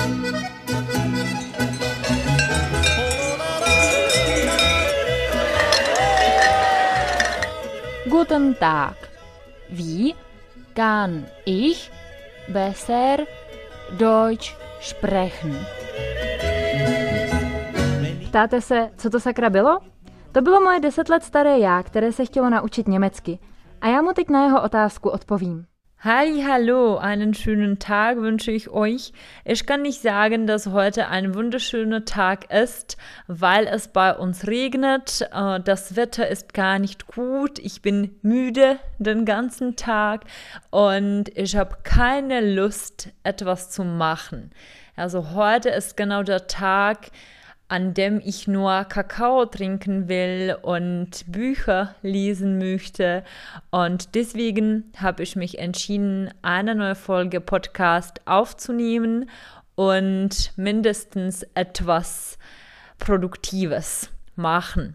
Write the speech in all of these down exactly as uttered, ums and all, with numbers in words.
Guten Tag. Wie kann ich besser Deutsch sprechen? Ptáte se, co to sakra bylo? To bylo moje deset let staré já, které se chtělo naučit německy. A já mu teď na jeho otázku odpovím. Halli, hallo, einen schönen Tag wünsche ich euch. Ich kann nicht sagen, dass heute ein wunderschöner Tag ist, weil es bei uns regnet. Das Wetter ist gar nicht gut. Ich bin müde den ganzen Tag und ich habe keine Lust, etwas zu machen. Also heute ist genau der Tag, an dem ich nur Kakao trinken will und Bücher lesen möchte. Und deswegen habe ich mich entschieden, eine neue Folge Podcast aufzunehmen und mindestens etwas Produktives machen.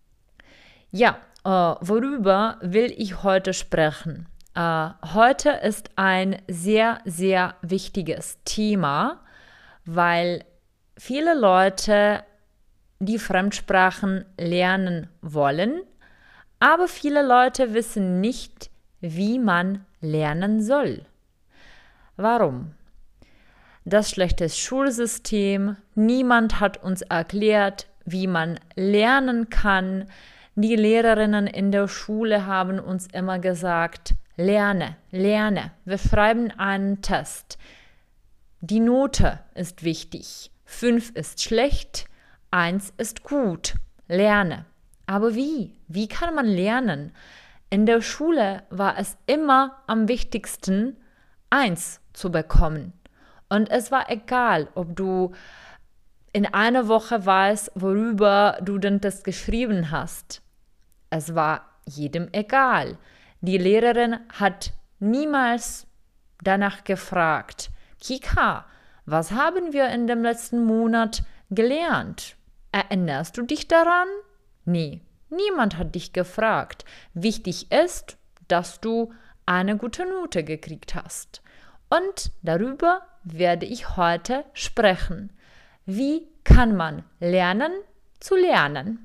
Ja, äh, worüber will ich heute sprechen? Äh, heute ist ein sehr, sehr wichtiges Thema, weil viele Leute die Fremdsprachen lernen wollen, aber viele Leute wissen nicht, wie man lernen soll. Warum? Das schlechte Schulsystem, niemand hat uns erklärt, wie man lernen kann. Die Lehrerinnen in der Schule haben uns immer gesagt, lerne, lerne, wir schreiben einen Test. Die Note ist wichtig. Fünf ist schlecht, eins ist gut. Lerne. Aber wie? Wie kann man lernen? In der Schule war es immer am wichtigsten, eins zu bekommen. Und es war egal, ob du in einer Woche weißt, worüber du den Test geschrieben hast. Es war jedem egal. Die Lehrerin hat niemals danach gefragt, Kika, was haben wir in dem letzten Monat gelernt? Erinnerst du dich daran? Nee, niemand hat dich gefragt. Wichtig ist, dass du eine gute Note gekriegt hast. Und darüber werde ich heute sprechen. Wie kann man lernen zu lernen?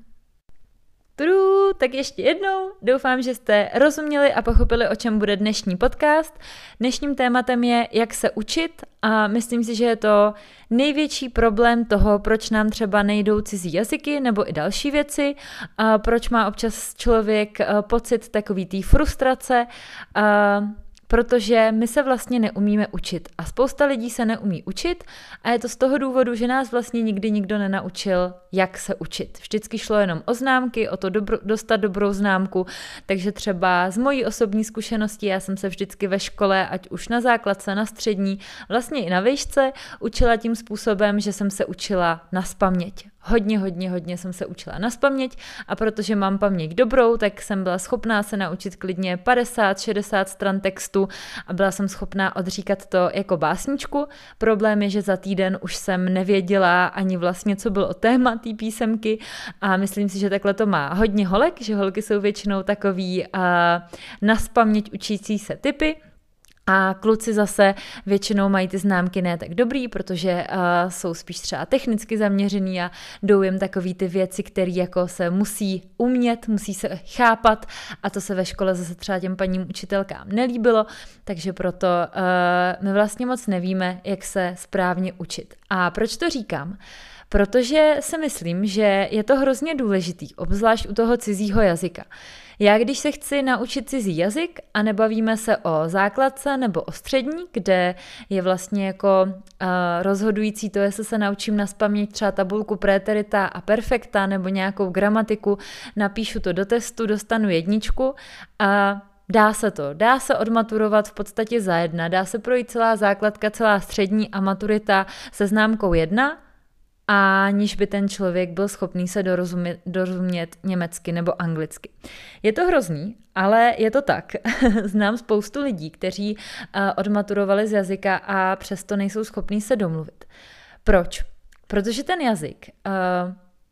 Tru, tak ještě jednou, doufám, že jste rozuměli a pochopili, o čem bude dnešní podcast. Dnešním tématem je, jak se učit a myslím si, že je to největší problém toho, proč nám třeba nejdou cizí jazyky nebo i další věci, a proč má občas člověk pocit takový té frustrace, a protože my se vlastně neumíme učit a spousta lidí se neumí učit a je to z toho důvodu, že nás vlastně nikdy nikdo nenaučil, jak se učit. Vždycky šlo jenom o známky, o to dobro, dostat dobrou známku, takže třeba z mojí osobní zkušenosti já jsem se vždycky ve škole, ať už na základce, na střední, vlastně i na výšce, učila tím způsobem, že jsem se učila nazpaměť. Hodně, hodně, hodně jsem se učila nazpaměť a protože mám paměť dobrou, tak jsem byla schopná se naučit klidně padesát šedesát stran textu a byla jsem schopná odříkat to jako básničku. Problém je, že za týden už jsem nevěděla ani vlastně, co bylo téma té písemky a myslím si, že takhle to má hodně holek, že holky jsou většinou takový uh, nazpaměť učící se typy. A kluci zase většinou mají ty známky ne tak dobrý, protože uh, jsou spíš třeba technicky zaměřený a jdou jim takový ty věci, které jako se musí umět, musí se chápat a to se ve škole zase třeba těm paním učitelkám nelíbilo, takže proto uh, my vlastně moc nevíme, jak se správně učit. A proč to říkám? Protože si myslím, že je to hrozně důležitý, obzvlášť u toho cizího jazyka. Já když se chci naučit cizí jazyk a nebavíme se o základce nebo o střední, kde je vlastně jako uh, rozhodující to, jestli se naučím nazpaměť třeba tabulku préterita a perfekta nebo nějakou gramatiku, napíšu to do testu, dostanu jedničku a dá se to. Dá se odmaturovat v podstatě za jedna. Dá se projít celá základka, celá střední a maturita se známkou jedna, aniž by ten člověk byl schopný se dorozumět, dorozumět německy nebo anglicky. Je to hrozný, ale je to tak. Znám spoustu lidí, kteří uh, odmaturovali z jazyka a přesto nejsou schopní se domluvit. Proč? Protože ten jazyk uh,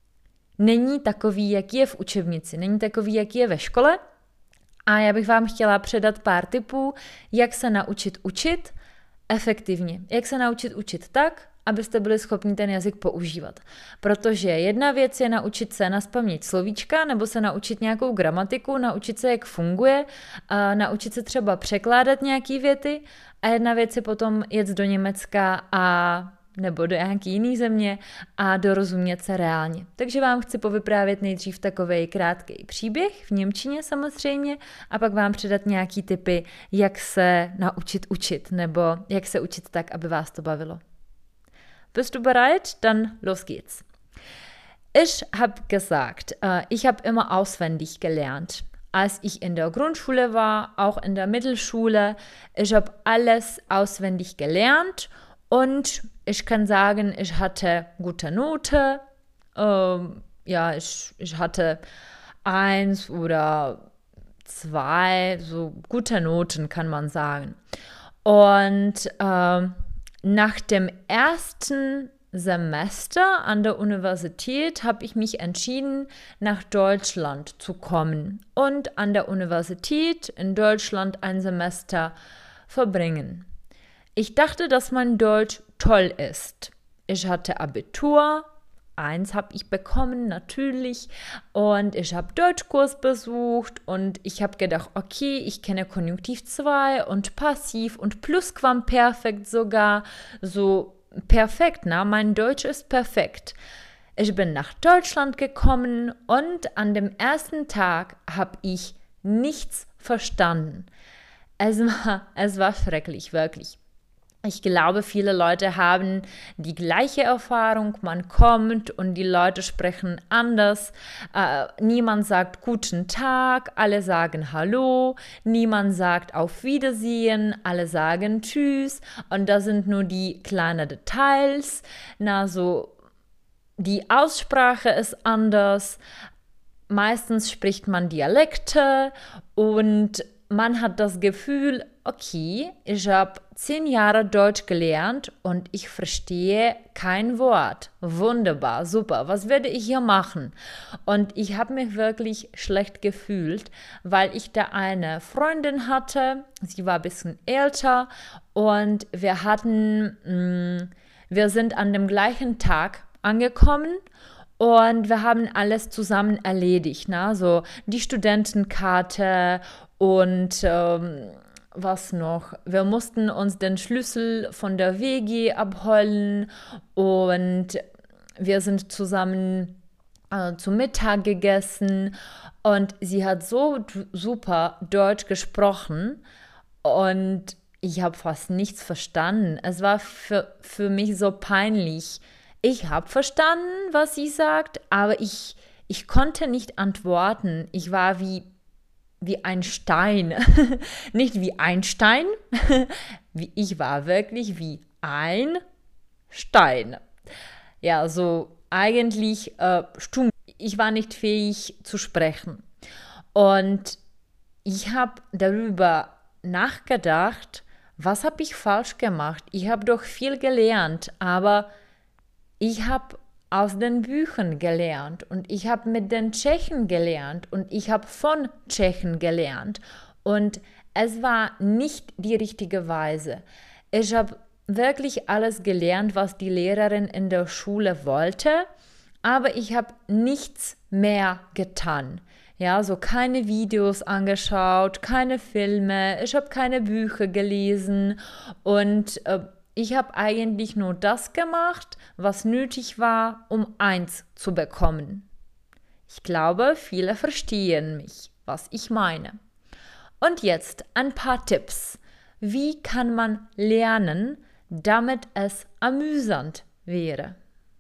není takový, jaký je v učebnici, není takový, jaký je ve škole a já bych vám chtěla předat pár tipů, jak se naučit učit efektivně. Jak se naučit učit tak, abyste byli schopni ten jazyk používat. Protože jedna věc je naučit se nazpaměť slovíčka, nebo se naučit nějakou gramatiku, naučit se, jak funguje, a naučit se třeba překládat nějaký věty, a jedna věc je potom jet do Německa a nebo do nějaké jiné země a dorozumět se reálně. Takže vám chci povyprávět nejdřív takovej krátký příběh v němčině samozřejmě a pak vám předat nějaký tipy, jak se naučit učit nebo jak se učit tak, aby vás to bavilo. Bist du bereit? Dann los geht's. Ich habe gesagt, uh, ich habe immer auswendig gelernt. Als ich in der Grundschule war, auch in der Mittelschule, ich habe alles auswendig gelernt. Und ich kann sagen, ich hatte gute Note. Ähm, ja, ich, ich hatte eins oder zwei, so gute Noten kann man sagen. Und ähm, nach dem ersten Semester an der Universität habe ich mich entschieden, nach Deutschland zu kommen und an der Universität in Deutschland ein Semester verbringen. Ich dachte, dass mein Deutsch toll ist. Ich hatte Abitur, eins habe ich bekommen, natürlich, und ich habe Deutschkurs besucht und ich habe gedacht, okay, ich kenne Konjunktiv zwei und Passiv und Plusquamperfekt sogar, so perfekt, na, mein Deutsch ist perfekt. Ich bin nach Deutschland gekommen und an dem ersten Tag habe ich nichts verstanden. Es war, es war schrecklich, wirklich. Ich glaube, viele Leute haben die gleiche Erfahrung, man kommt und die Leute sprechen anders, äh, niemand sagt guten Tag, alle sagen Hallo, niemand sagt auf Wiedersehen, alle sagen Tschüss und da sind nur die kleinen Details, na so, die Aussprache ist anders, meistens spricht man Dialekte und man hat das Gefühl, okay, ich habe zehn Jahre Deutsch gelernt und ich verstehe kein Wort. Wunderbar, super, was werde ich hier machen? Und ich habe mich wirklich schlecht gefühlt, weil ich da eine Freundin hatte, sie war ein bisschen älter und wir hatten, mh, wir sind an dem gleichen Tag angekommen. Und wir haben alles zusammen erledigt, ne? So die Studentenkarte und ähm, was noch? Wir mussten uns den Schlüssel von der W G abholen und wir sind zusammen äh, zu Mittag gegessen und sie hat so d- super Deutsch gesprochen und ich habe fast nichts verstanden. Es war für, für mich so peinlich. Ich habe verstanden, was sie sagt, aber ich, ich konnte nicht antworten. Ich war wie, wie ein Stein. Nicht wie Einstein. Ich war wirklich wie ein Stein. Ja, so eigentlich äh, stumm. Ich war nicht fähig zu sprechen. Und ich habe darüber nachgedacht, was habe ich falsch gemacht? Ich habe doch viel gelernt, aber ich habe aus den Büchern gelernt und ich habe mit den Tschechen gelernt und ich habe von Tschechen gelernt und es war nicht die richtige Weise. Ich habe wirklich alles gelernt, was die Lehrerin in der Schule wollte, aber ich habe nichts mehr getan. Ja, so keine Videos angeschaut, keine Filme, ich habe keine Bücher gelesen und äh, ich habe eigentlich nur das gemacht, was nötig war, um eins zu bekommen. Ich glaube, viele verstehen mich, was ich meine. Und jetzt ein paar Tipps. Wie kann man lernen, damit es amüsant wäre?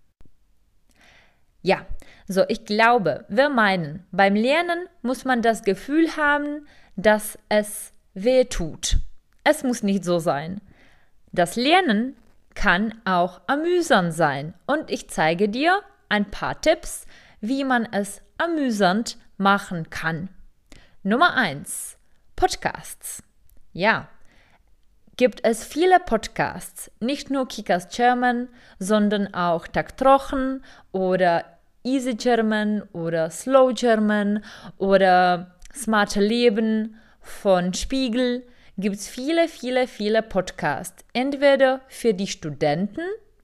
Ja, so ich glaube, wir meinen, beim Lernen muss man das Gefühl haben, dass es weh tut. Es muss nicht so sein. Das Lernen kann auch amüsant sein und ich zeige dir ein paar Tipps, wie man es amüsant machen kann. Nummer eins. Podcasts. Ja, gibt es viele Podcasts, nicht nur Kickers German, sondern auch Taktrochen oder Easy German oder Slow German oder Smarte Leben von Spiegel. Gibt es viele, viele, viele Podcasts, entweder für die Studenten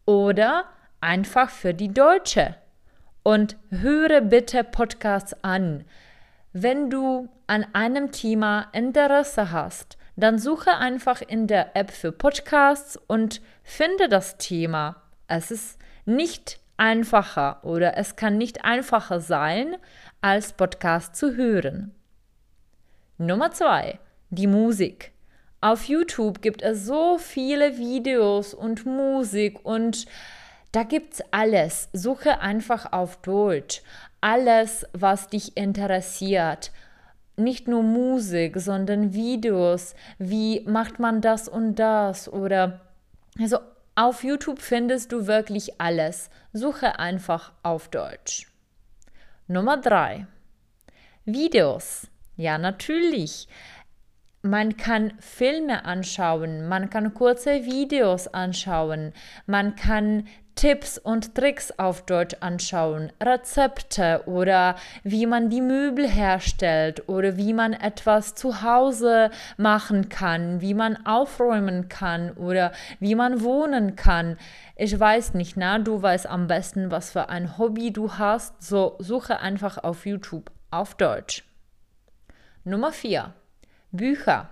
Oder einfach für die Deutsche. Und höre bitte Podcasts an. Wenn du an einem Thema Interesse hast, dann suche einfach in der App für Podcasts und finde das Thema. Es ist nicht einfacher oder es kann nicht einfacher sein, als Podcast zu hören. Nummer zwei, die Musik. Auf YouTube gibt es so viele Videos und Musik und da gibt's alles. Suche einfach auf Deutsch. Alles, was dich interessiert. Nicht nur Musik, sondern Videos. Wie macht man das und das? Oder also auf YouTube findest du wirklich alles. Suche einfach auf Deutsch. Nummer drei. Videos. Ja, natürlich. Man kann Filme anschauen, man kann kurze Videos anschauen, man kann Tipps und Tricks auf Deutsch anschauen, Rezepte oder wie man die Möbel herstellt oder wie man etwas zu Hause machen kann, wie man aufräumen kann oder wie man wohnen kann. Ich weiß nicht, na, du weißt am besten, was für ein Hobby du hast, so suche einfach auf YouTube auf Deutsch. Nummer vier. Bücher.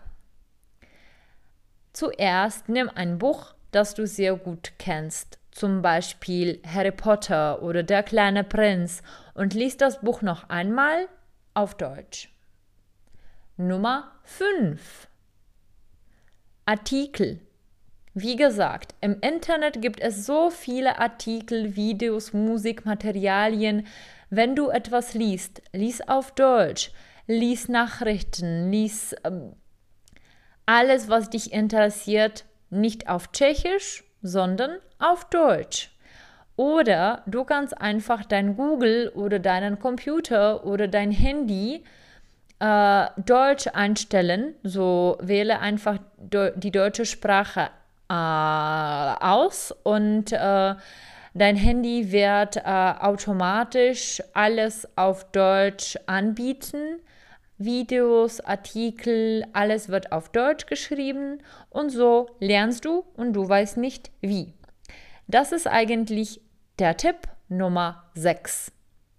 Zuerst nimm ein Buch, das du sehr gut kennst, zum Beispiel Harry Potter oder Der kleine Prinz, und lies das Buch noch einmal auf Deutsch. Nummer fünf. Artikel. Wie gesagt, im Internet gibt es so viele Artikel, Videos, Musik, Materialien. Wenn du etwas liest, lies auf Deutsch. Lies Nachrichten, lies ähm, alles, was dich interessiert, nicht auf Tschechisch, sondern auf Deutsch. Oder du kannst einfach dein Google oder deinen Computer oder dein Handy äh, Deutsch einstellen. So wähle einfach de- die deutsche Sprache äh, aus und äh, dein Handy wird äh, automatisch alles auf Deutsch anbieten. Videos, Artikel, alles wird auf Deutsch geschrieben und so lernst du und du weißt nicht wie. Das ist eigentlich der Tipp Nummer sechs.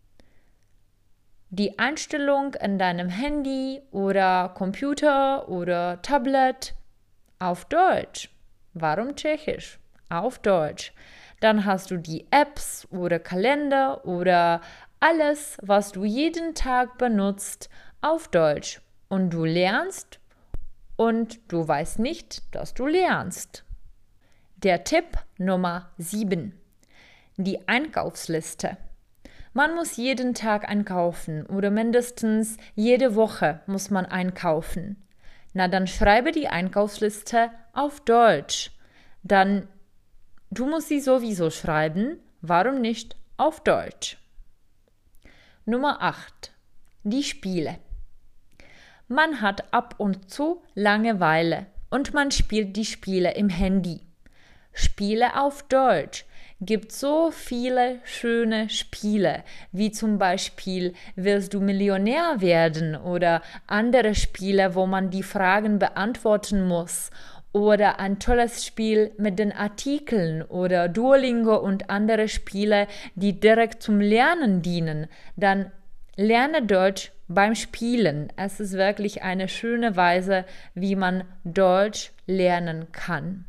Die Einstellung in deinem Handy oder Computer oder Tablet auf Deutsch. Warum Tschechisch? Auf Deutsch. Dann hast du die Apps oder Kalender oder alles, was du jeden Tag benutzt, auf Deutsch. Und du lernst und du weißt nicht, dass du lernst. Der Tipp Nummer sieben. Die Einkaufsliste. Man muss jeden Tag einkaufen oder mindestens jede Woche muss man einkaufen. Na, dann schreibe die Einkaufsliste auf Deutsch. Dann, du musst sie sowieso schreiben, warum nicht auf Deutsch? Nummer acht. Die Spiele. Man hat ab und zu Langeweile und man spielt die Spiele im Handy. Spiele auf Deutsch. Gibt so viele schöne Spiele, wie zum Beispiel Willst du Millionär werden oder andere Spiele, wo man die Fragen beantworten muss oder ein tolles Spiel mit den Artikeln oder Duolingo und andere Spiele, die direkt zum Lernen dienen. Dann lerne Deutsch beim Spielen. Es ist wirklich eine schöne Weise, wie man Deutsch lernen kann.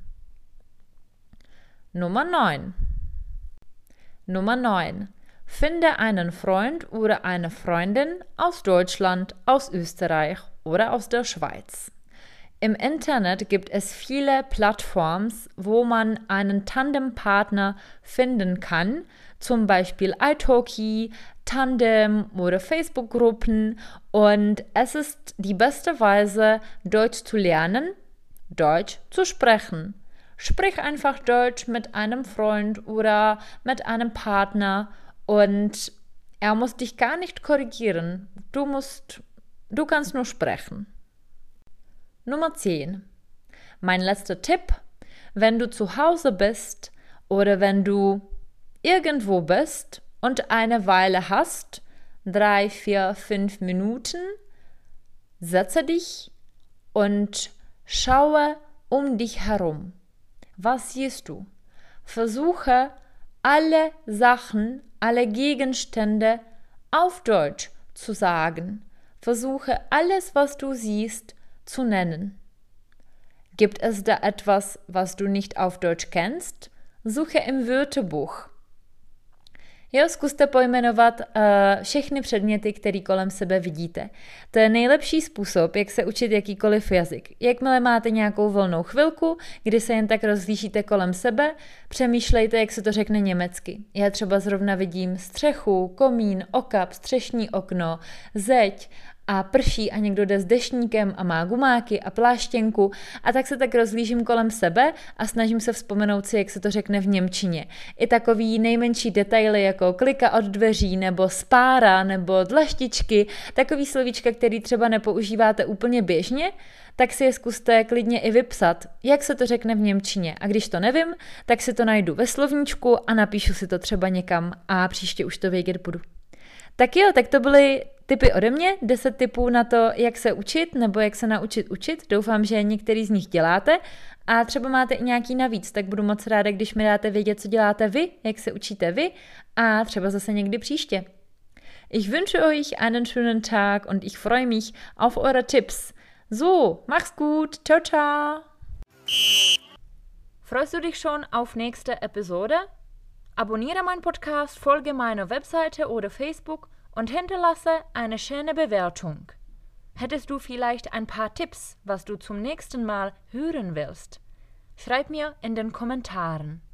Nummer neun. Nummer neun. Finde einen Freund oder eine Freundin aus Deutschland, aus Österreich oder aus der Schweiz. Im Internet gibt es viele Plattformen, wo man einen Tandempartner finden kann, zum Beispiel italki, Tandem oder Facebook-Gruppen, und es ist die beste Weise, Deutsch zu lernen, Deutsch zu sprechen. Sprich einfach Deutsch mit einem Freund oder mit einem Partner und er muss dich gar nicht korrigieren. Du musst, du kannst nur sprechen. Nummer zehn. Mein letzter Tipp: Wenn du zu Hause bist oder wenn du irgendwo bist und eine Weile hast, drei, vier, fünf Minuten, setze dich und schaue um dich herum. Was siehst du? Versuche alle Sachen, alle Gegenstände auf Deutsch zu sagen. Versuche alles, was du siehst, zu nennen. Gibt es da etwas, was du nicht auf Deutsch kennst? Suche im Wörterbuch. Jo, zkuste pojmenovat uh, všechny předměty, které kolem sebe vidíte. To je nejlepší způsob, jak se učit jakýkoliv jazyk. Jakmile máte nějakou volnou chvilku, kdy se jen tak rozhlížíte kolem sebe, přemýšlejte, jak se to řekne německy. Já třeba zrovna vidím střechu, komín, okap, střešní okno, zeď a prší a někdo jde s deštníkem a má gumáky a pláštěnku a tak se tak rozhlížím kolem sebe a snažím se vzpomenout si, jak se to řekne v němčině. I takový nejmenší detaily jako klika od dveří nebo spára nebo dlaštičky, takový slovíčka, který třeba nepoužíváte úplně běžně, tak si je zkuste klidně i vypsat, jak se to řekne v němčině. A když to nevím, tak si to najdu ve slovníčku a napíšu si to třeba někam a příště už to vědět budu. Tak jo, tak to byly tipy ode mě, deset tipů na to, jak se učit nebo jak se naučit učit. Doufám, že některý z nich děláte a třeba máte i nějaký navíc, tak budu moc ráda, když mi dáte vědět, co děláte vy, jak se učíte vy a třeba zase někdy příště. Ich wünsche euch einen schönen Tag und ich freue mich auf eure Tipps. So, mach's gut, ciao, ciao. Freust du dich schon auf nächste Episode? Abonniere meinen Podcast, folge meiner Webseite oder Facebook und hinterlasse eine schöne Bewertung. Hättest du vielleicht ein paar Tipps, was du zum nächsten Mal hören willst? Schreib mir in den Kommentaren.